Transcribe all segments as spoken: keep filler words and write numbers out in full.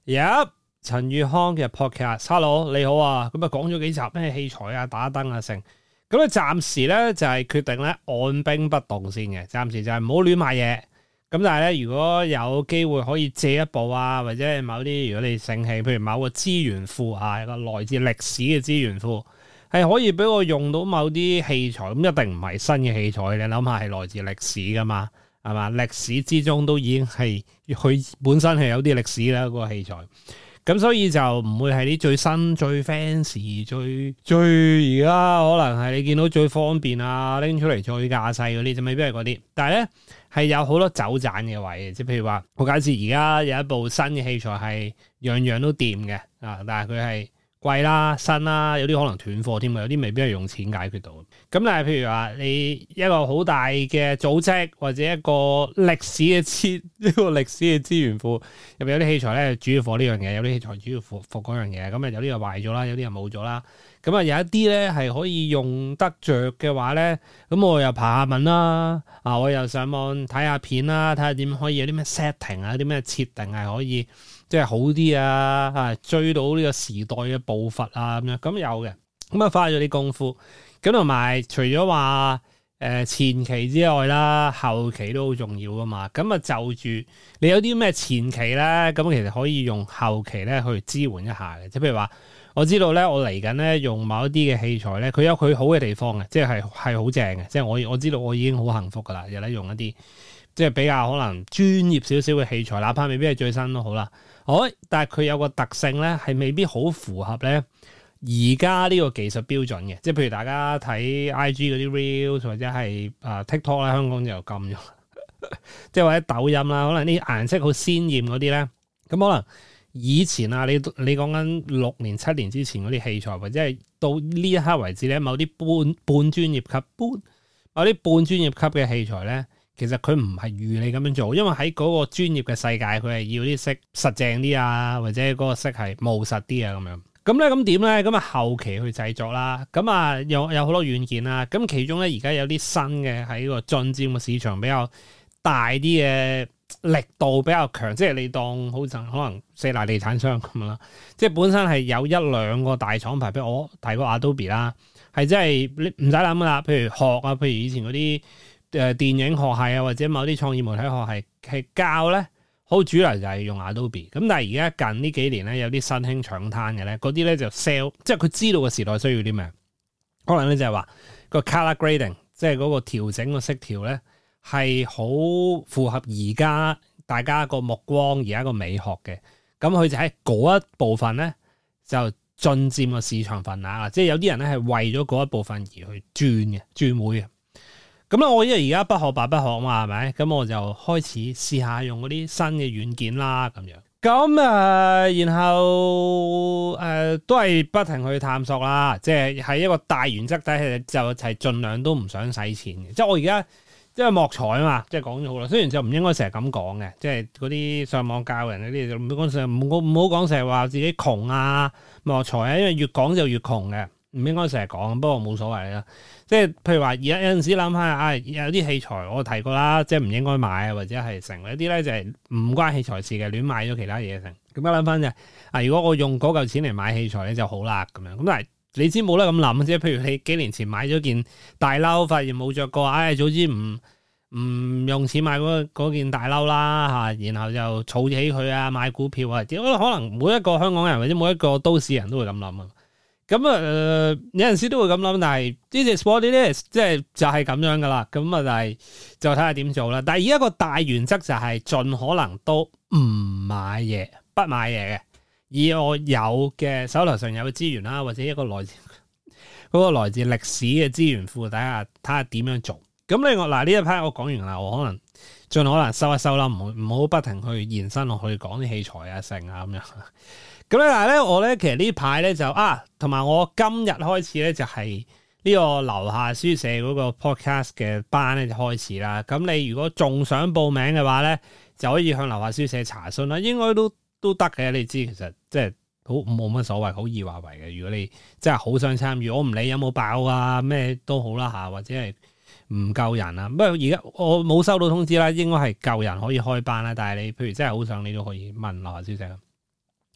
有陳宇康嘅 podcast，hello 你好啊，咁啊講咗幾集咩器材啊、打燈啊成，咁咧暫時咧就係決定咧按兵不動先嘅，暫時就係唔好亂買嘢。咁但係咧，如果有機會可以借一部啊，或者係某啲如果你盛氣，譬如某個資源庫啊，一個來自歷史嘅資源庫，係可以俾我用到某啲器材，咁一定唔係新嘅器材，你諗下係來自歷史噶嘛，係嘛？歷史之中都已經係佢本身係有啲歷史啦，嗰個器材。咁所以就唔會係啲最新、最 fancy、最最而家可能係你見到最方便啊，拎出嚟最架勢嗰啲，就未必係嗰啲。但係咧係有好多走盞嘅位，即係譬如話，我假設而家有一部新嘅器材係樣樣都掂嘅啊，但係佢係貴啦、新啦，有啲可能斷貨添嘅，有啲未必係用錢解決到。咁但係譬如話，你一個好大嘅組織或者一個歷史嘅資一個歷史嘅資源庫入邊有啲器材咧，主要貨呢樣嘢，有啲器材主要貨貨嗰樣嘢，咁啊有啲又壞咗啦，有啲又冇咗啦。咁啊有一啲咧係可以用得着嘅話咧，咁我又爬下文啦，啊我又上網睇下片啦，睇下點可以有啲咩 setting 啊，啲咩設定係可以即係好啲啊，啊追到呢個時代嘅步伐啊咁樣，咁有嘅，咁啊花咗啲功夫，咁同埋除咗話誒前期之外啦，後期都好重要噶嘛，咁啊就住你有啲咩前期咧，咁其實可以用後期咧去支援一下嘅，即係譬如話。我知道咧，我嚟緊咧用某一啲嘅器材咧，佢有佢好嘅地方嘅，即係係好正嘅。即係我我知道我已經好幸福噶啦，有得用一啲即係比較可能專業少少嘅器材，哪怕未必係最新都好啦。好，但係佢有個特性咧，係未必好符合咧而家呢個技術標準嘅。即係譬如大家睇 I G 嗰啲 reels 或者係啊 TikTok 啦，香港就禁咗，即係或者抖音啦，可能啲顏色好鮮豔嗰啲咧，咁可能。以前啊，你你講緊六年七年之前嗰啲器材，或者係到呢一刻為止咧，某啲半半專業級、半某啲半專業級嘅器材咧，其實佢唔係預你咁樣做，因為喺嗰個專業嘅世界，佢係要啲色實淨啲啊，或者嗰個色係務實啲啊咁樣。咁咧咁點咧？咁啊後期去製作啦，咁啊有有好多軟件啦，咁其中咧而家有啲新嘅喺個進佔嘅市場比較大啲嘅。力度比較強，即係你當好似可能四大地產商咁樣啦，即係本身係有一兩個大廠牌，譬如我提過 Adobe 啦，係真係你唔使諗噶啦，譬如學啊，譬如以前嗰啲誒電影學系啊，或者某啲創意媒體學系係教咧，好主流就係用 Adobe。咁但係而家近呢幾年咧，有啲新興搶灘嘅咧，嗰啲咧就 sell，即係佢知道個時代需要啲咩，可能咧就係話個 color grading，即係嗰個調整個色調咧。係好符合而家大家個目光，而家個美學嘅，咁佢就喺嗰一部分咧就進佔個市場份額啦。即係有啲人咧係為咗嗰一部分而去轉嘅，轉會嘅。咁咧，我因為而家不學白不學嘛，係咪？咁我就開始試下用嗰啲新嘅軟件啦，咁樣。咁啊、呃，然後誒、呃、都係不停去探索啦。即係喺一個大原則底下，就係盡量都唔想使錢嘅。即係我而家。即係莫財啊嘛，即係講咗好啦。雖然就唔應該成日咁講嘅，即係嗰啲上網教人嗰啲就唔好講成日，唔好唔好講成日話自己窮啊莫財啊，因為越講就越窮嘅，唔應該成日講。不過冇所謂啦。即係譬如話，而家有陣時諗下，啊有啲器材我提過啦，即係唔應該買啊，或者係成一啲咧就係唔關器材事嘅，亂買咗其他嘢成。咁樣諗翻就啊，如果我用嗰嚿錢嚟買器材咧就好啦咁樣。咁但係你知冇得咁諗，即係譬如你幾年前買咗件大褸，發現冇着過，唉、哎，早知唔唔用錢買嗰件大褸啦嚇，然後就儲起佢啊，買股票啊，點可能每一個香港人或者每一個都市人都會咁諗啊？咁啊、呃，有陣時都會咁諗，但係呢隻 sport 呢啲即係就係咁樣噶啦。咁啊，但係就睇下點做啦。但係而家個大原則就係盡可能都唔買嘢，不買嘢嘅。以我有嘅手頭上有嘅資源啦，或者一個來自嗰、嗰個來自歷史嘅資源庫，睇下睇下點樣做。咁另外嗱呢一 part 我講完啦，我可能盡可能收一收啦，唔好唔好不停去延伸落去講啲器材啊、成啊咁樣。咁咧但係咧我咧其實呢排咧就啊，同埋我今日開始咧就係呢個樓下書社嗰個 podcast 嘅班咧就開始啦。咁你如果仲想報名嘅話咧，就可以向樓下書社查詢啦，應該都。都得嘅，你知其實即係好冇乜所謂，好易話為嘅。如果你真係好想參與，我唔理有冇爆啊，咩都好啦嚇，或者係唔夠人啊。不過而家我冇收到通知啦，應該係夠人可以開班啦。但係你譬如真係好想，你都可以問樓下書社啦。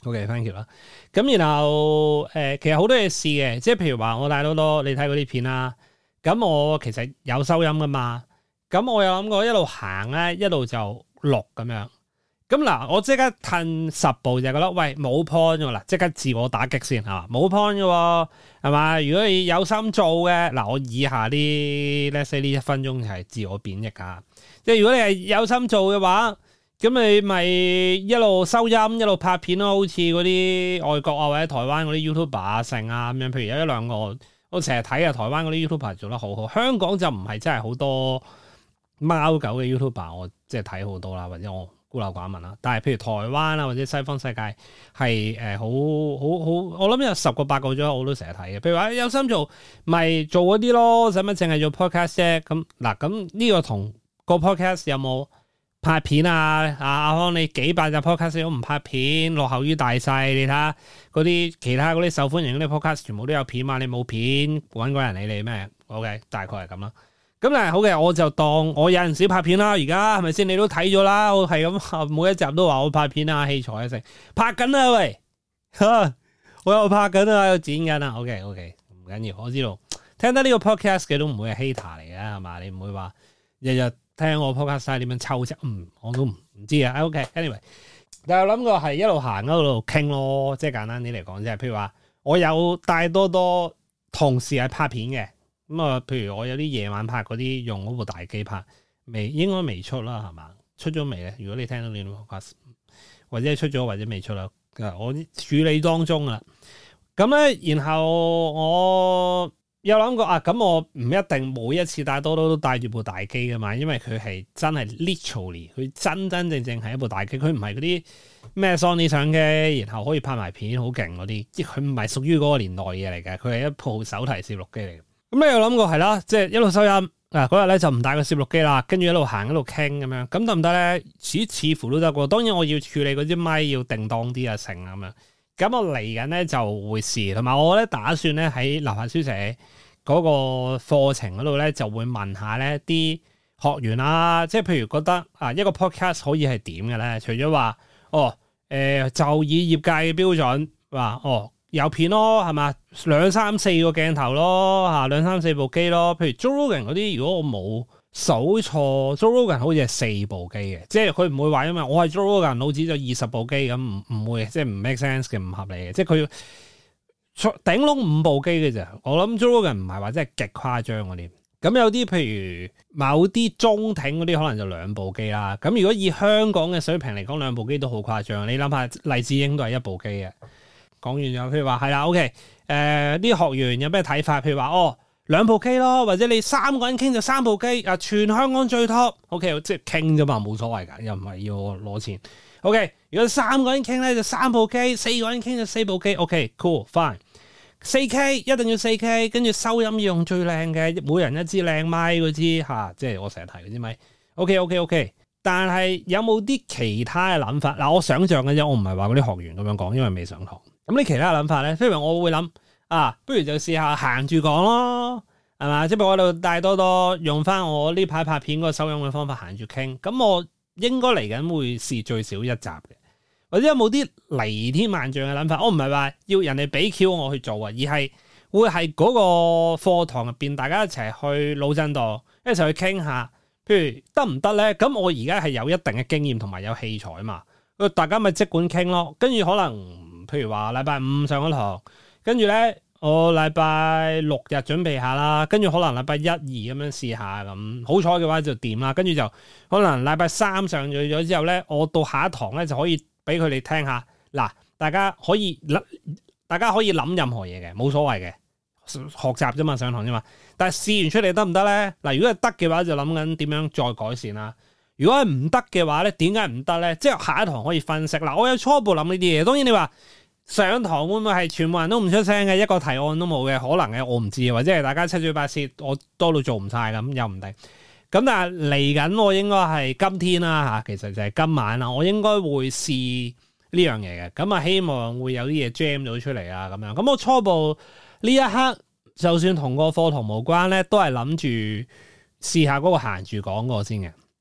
OK，thank you 啦。咁然後誒、呃，其實好多嘢試嘅，即係譬如話我帶多多，你睇嗰啲片啦。咁我其實有收音噶嘛。咁我有諗過一路行咧，一路就錄咁樣。咁嗱，我即刻褪十步就覺得，喂，冇 point 㗎啦，即刻自我打擊先係嘛，冇 point 嘅喎，係嘛？如果你有心做嘅，嗱，我以下啲 let's say 呢一分鐘係自我貶抑啊。即係如果你係有心做嘅話，咁你咪一路收音一路拍片咯，好似嗰啲外國啊或者台灣嗰啲 YouTuber 啊成啊咁樣。譬如有一兩個我成日睇啊，台灣嗰啲 YouTuber 做得好好，香港就唔係真係好多貓狗嘅 YouTuber，我即係睇好多啦，或者我孤陋寡聞啦。但係譬如台灣啊或者西方世界係誒好好好，我諗有十個八個左右我都成日睇嘅。譬如話有心做，咪做嗰啲咯，使乜淨係做 podcast 啫？咁嗱，咁呢個同個 podcast 有冇拍片啊？阿阿康你幾百集 podcast 都唔拍片，落後於大勢。你睇下嗰啲其他嗰啲受歡迎嗰啲 podcast 全部都有片嘛？你冇片揾個人理你咩 ？OK， 大概係咁啦。咁但係好嘅，我就當我有陣時拍片啦。而家係咪先？你都睇咗啦，我係咁每一集都話我拍片啊，器材啊成拍緊啊喂，我又拍緊啊，又剪緊啊。OK OK， 唔緊要，我知道聽得呢個 podcast 嘅都唔會係 hater 嚟嘅係嘛？你唔會話日日聽我 podcast 點樣抽啫？嗯，我都唔唔知啊。OK，anyway， 但係我諗過係一路行一路傾咯，即係簡單啲嚟講，即係譬如話我有帶多多同事係拍片嘅。咁啊，譬如我有啲夜晚拍嗰啲用嗰部大機拍，未應該未出啦，係嘛？出咗未咧？如果你聽到呢個 podcast，或者出咗或者未出啦，我處理當中啦。咁咧，然後我有諗過啊，咁我唔一定每一次帶多多都帶住部大機噶嘛，因為佢係真係 literally，佢真真正正係一部大機，佢唔係嗰啲咩 Sony 相機，然後可以拍埋片好勁嗰啲，即係佢唔係屬於嗰個年代嘢嚟嘅，佢係一部手提攝錄機嚟嘅。咁你有諗過係啦，即係一路收音嗱，嗰日咧就唔帶個攝錄機啦，跟住一路行一路傾咁樣，咁得唔得咧？似似乎都得喎。當然我要處理嗰支咪要定當啲啊成咁樣。咁我嚟緊咧就會試，同埋我咧打算咧喺流行書社嗰個課程嗰度咧就會問下咧啲學員啦，即係譬如覺得啊一個 podcast 可以係點嘅咧？除咗話哦誒、呃、就以業界嘅標準話哦。有片咯，係嘛？兩三四個鏡頭咯，嚇兩三四部機咯。譬如 Joe Rogan 嗰啲，如果我冇數錯 Joe Rogan 好似係四部機嘅，即係佢唔會話因為我係 Joe Rogan 老子就二十部機咁，唔唔會，即係唔 make sense 嘅，唔合理嘅。即係佢頂籠五部機嘅啫。我諗 Joe Rogan 唔係話真係極誇張嗰啲。咁有啲譬如某啲中艇嗰啲，可能就兩部機啦。咁如果以香港嘅水平嚟講，兩部機都好誇張。你諗下，黎智英都係一部機嘅。講完咗，譬如話係啦 ，OK，誒、呃、啲學員有咩睇法？譬如話哦，兩部機咯，或者你三個人傾就三部機，啊全香港最 top，OK， 即係傾啫嘛，冇所謂㗎，又唔係要我攞錢。OK，如果三個人傾咧就三部機，四個人傾就四部機。OK，cool，fine，四 K 一定要四 K， 跟住收音要用最靚嘅，每人一支靚咪嗰支嚇，即係我成日提嗰支咪。OK，OK，OK。但係有冇啲其他嘅諗法？嗱，我想象嘅啫，我唔係話嗰啲學員咁樣講，因為未上堂。咁你其他嘅諗法咧？譬如我會諗啊，不如就試下行住講咯，係嘛？即係我喺度帶多多用翻我呢排拍片嗰個收音嘅方法行住傾。咁我應該嚟緊會試最少一集嘅，或者有冇啲離天萬丈嘅諗法？我唔係話要人哋俾 Q 我去做啊，而係會係嗰個課堂入邊大家一齊去腦震盪，一齊去傾下。譬如得唔得咧？咁我而家係有一定嘅經驗同埋有器材嘛，大家咪即管傾咯。跟住可能譬如話禮拜五上咗堂，跟住咧我禮拜六日準備下啦，跟住可能禮拜一二咁樣試下咁，好彩嘅話就掂啦。跟住就可能禮拜三上咗咗之後咧，我到下一堂咧就可以俾佢哋聽下。嗱，大家可以大家可以諗任何嘢嘅，冇所謂嘅。學習啫嘛，上堂啫嘛，但係試完出嚟得唔得咧？嗱，如果係得嘅話，就諗緊點樣再改善啦。如果係唔得嘅話咧，點解唔得咧？即係下一堂可以分析。嗱，我有初步諗呢啲嘢。當然你話上堂會唔會係全部人都唔出聲嘅，一個提案都冇嘅，可能嘅，我唔知，或者係大家七嘴八舌，我多到做唔晒咁，又唔定。咁但係嚟緊我應該係今天啦吓，其實就係今晚啦，我應該會試呢樣嘢嘅。咁啊，希望會有啲嘢 jam 到出嚟啊，咁樣。咁我初步。呢一刻就算同個課堂無關咧，都係諗住試下嗰個行住講過先嘅。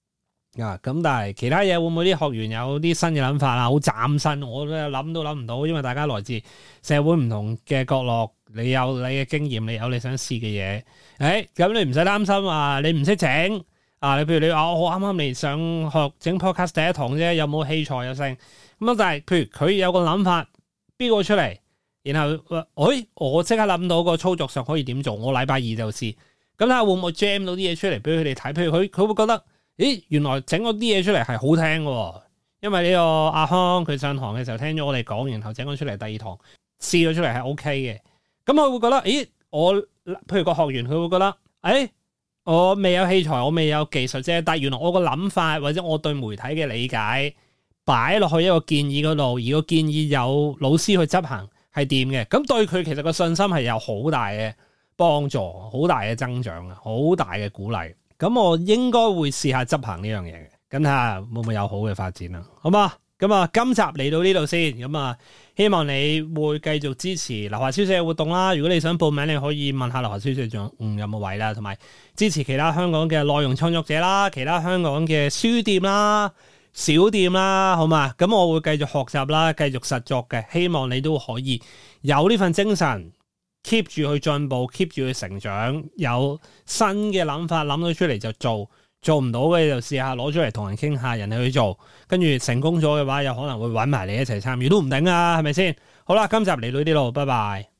啊，咁但係其他嘢會唔會啲學員有啲新嘅諗法啊？好嶄新，我都諗都諗唔到，因為大家來自社會唔同嘅角落，你有你嘅經驗，你有你想試嘅嘢。誒、哎，咁你唔使擔心啊，你唔識整啊？你譬如你話我啱啱嚟上學整 podcast 第一堂啫，有冇器材有剩咁啊？但係譬如佢有個諗法，標個出嚟，然後誒、哎，我即刻諗到個操作上可以點做，我禮拜二就試。咁睇下會唔會 jam 到啲嘢出嚟俾佢哋睇？譬如佢佢會覺得。咦，原來整嗰啲嘢出嚟係好聽嘅，因為呢個阿康佢上堂嘅時候聽咗我哋講，然後整咗出嚟第二堂試咗出嚟係 O K 嘅。咁佢會覺得，咦，我譬如個學員佢會覺得，誒、哎，我未有器材，我未有技術啫，但係原來我個諗法或者我對媒體嘅理解擺落去一個建議嗰度，而個建議有老師去執行係掂嘅，咁對佢其實個信心係有好大嘅幫助，好大嘅增長啊，好大嘅鼓勵。咁我應該會試下執行呢樣嘢嘅，咁睇下會唔會有好嘅發展啦，好嘛？咁啊，今集嚟到呢度先，咁啊，希望你會繼續支持留下消息嘅活動啦。如果你想報名，你可以問下留下消息仲嗯有冇位啦，同埋支持其他香港嘅內容創作者啦，其他香港嘅書店啦、小店啦，好嘛？咁我會繼續學習啦，繼續實作嘅，希望你都可以有呢份精神。keep 住去進步 keep 住去成長，有新嘅諗法諗到出嚟就做，做唔到嘅就試下攞出嚟同人傾下，人哋去做，跟住成功咗嘅話，有可能會搵埋你一齊參與都唔定啊，係咪先？好啦，今集嚟到呢度，拜拜。